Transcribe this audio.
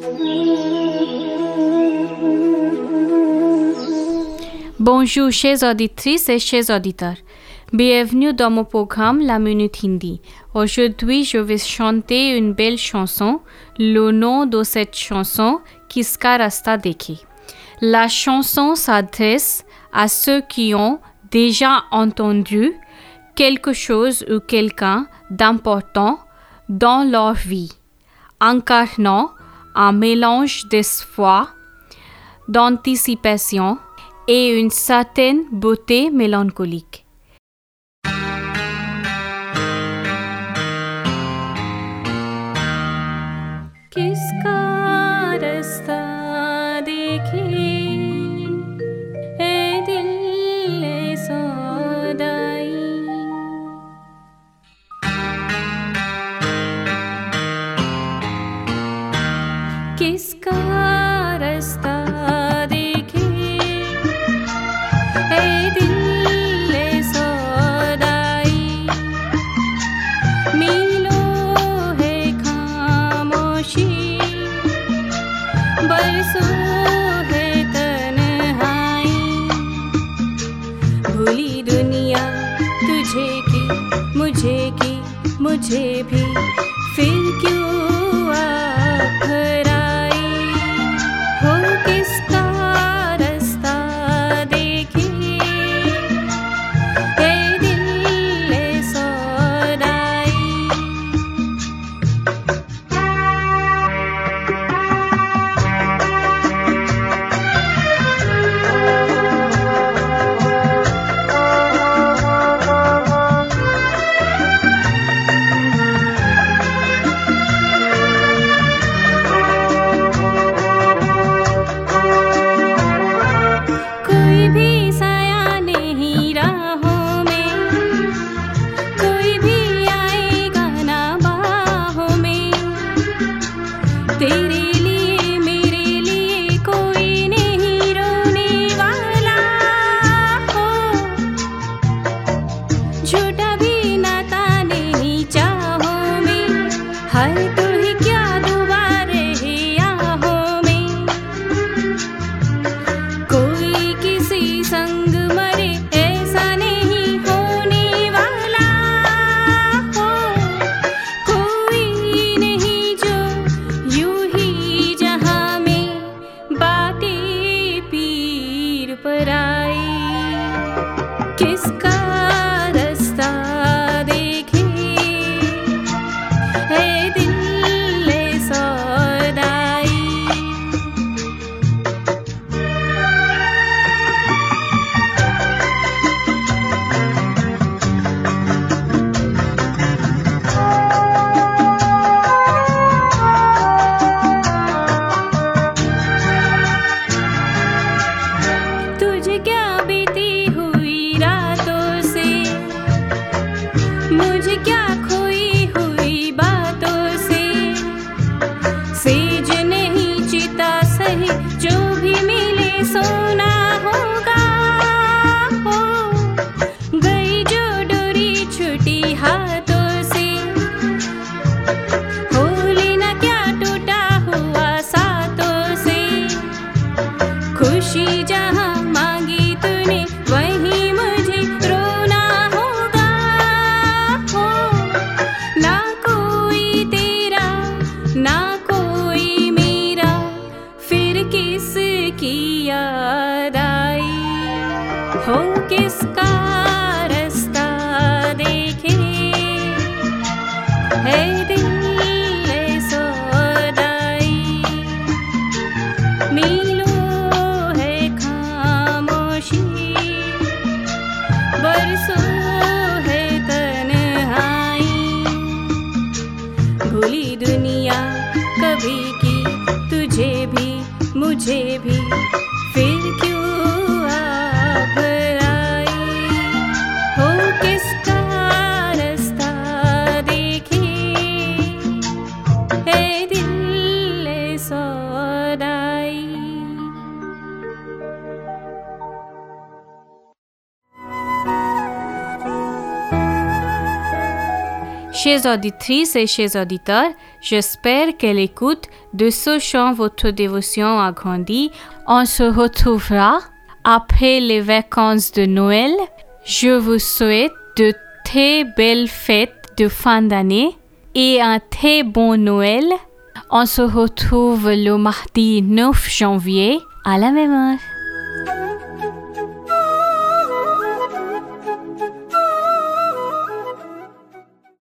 Bonjour chers auditrices et chers auditeurs. Bienvenue dans mon programme La Minute Hindi. Aujourd'hui, je vais chanter une belle chanson. Le nom de cette chanson, Kiska Rasta Dekhe. La chanson s'adresse à ceux qui ont déjà entendu quelque chose ou quelqu'un d'important dans leur vie, incarnant un mélange d'espoir, d'anticipation et une certaine beauté mélancolique. किसका रास्ता देखे ए दिल ए सौदाई किसका रास्ता देखे ए दिल ए सौदाई मिलो है खामोशी बरसों है तन्हाई भूली दुनिया तुझे की मुझे भी फिर क्यों आखराई हो किसका रास्ता देखे ए दिल ए सौदाई कोई भी साया नहीं राहों में कोई भी आएगा ना बाहों में तेरे लिए मेरे लिए कोई नहीं रोने वाला हो झूठा भी नाता नहीं चाहों में हर तू ही क्या दुबारे है आहों में कोई किसी संग मरे ऐसा नहीं होने वाला हो कोई नहीं जो यूं ही जहां में बातें पीर पर आई किसका रास्ता देखे है दिल ए सौदाई तुझे क्या बीती हुई रातों से मुझे क्या खोई हुई बातों से सेज नहीं चिता सही जो भी मिले सोना होगा हो गई जो डोरी छूटी हाथों से हो लेना क्या टूटा हुआ सातों से खुशी जहाँ मांगी तूने वहीं मुझे रोना होगा हो ना कोई तेरा ना कोई मेरा फिर किसकी याद आई हो किसका रास्ता देखे है दिल ए सौदाई मिलो है खामोशी बरसों है तन्हाई भूली दुनिया कभी की तुझे भी मुझे भी फिर क्यों आखराई हो किसका रास्ता देखे है दिल ए सौदाई Chères auditrices et chers auditeurs, j'espère que l'écoute de ce chant votre dévotion a grandi. On se retrouvera après les vacances de Noël. Je vous souhaite de très belles fêtes de fin d'année et un très bon Noël. On se retrouve le mardi 9 janvier à la même heure.